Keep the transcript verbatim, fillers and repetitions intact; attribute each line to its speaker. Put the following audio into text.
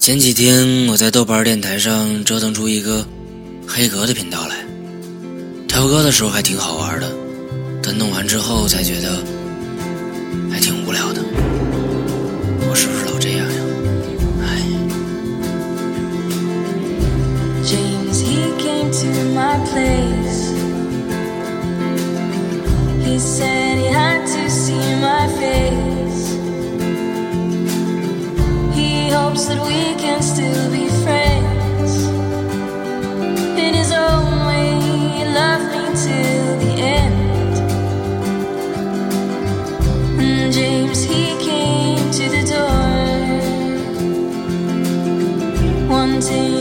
Speaker 1: 前几天我在豆瓣电台上折腾出一个黑格的频道来，挑歌的时候还挺好玩的，但弄完之后才觉得还挺无聊的。我是不是老这样呀？唉。
Speaker 2: James, he came to my place. He said he had to see my face. He hopes that we can still be friends. In his own way, he loved me till the end. And James, he came to the door, wanting